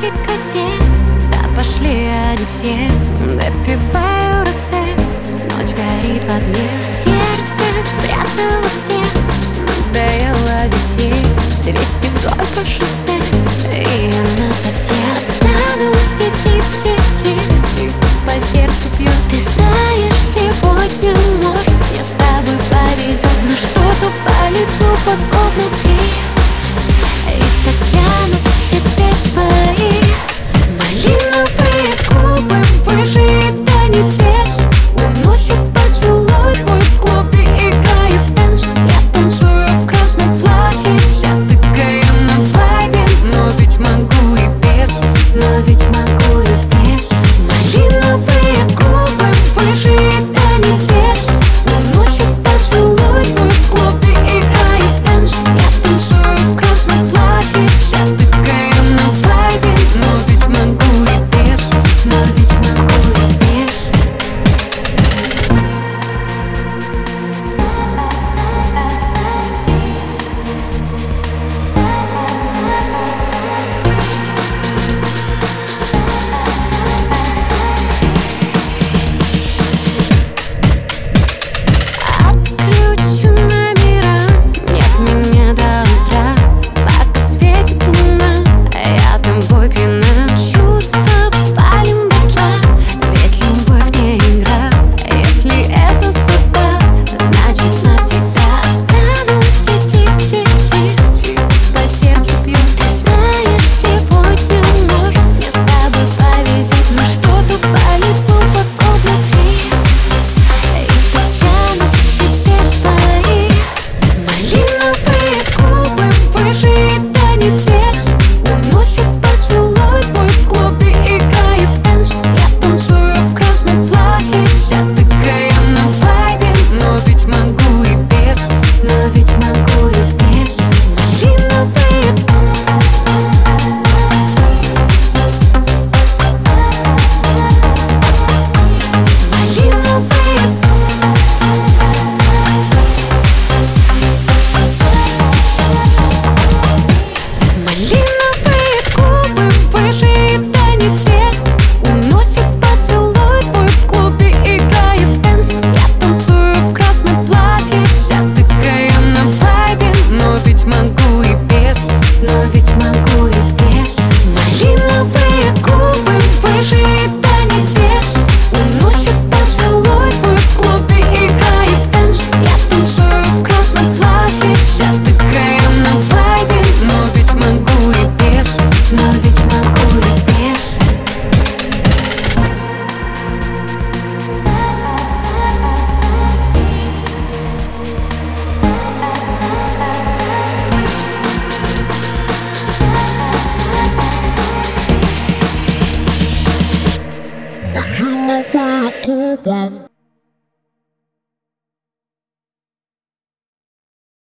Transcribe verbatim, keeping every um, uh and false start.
десятки кассет, да пошли они все. Допиваю росе, ночь горит в огне. Сердце спрятало всех, надоело висеть. Двести только шоссе, и она совсем. Останусь тип-тип-тип-тип, по сердцу бьет. Ты знаешь, сегодня, может, мне с тобой повезет, но что-то болит глубоко внутри.